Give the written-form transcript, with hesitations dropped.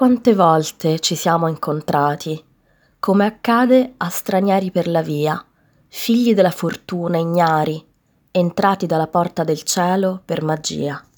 quante volte ci siamo incontrati, come accade a stranieri per la via, figli della fortuna ignari, entrati dalla porta del cielo per magia.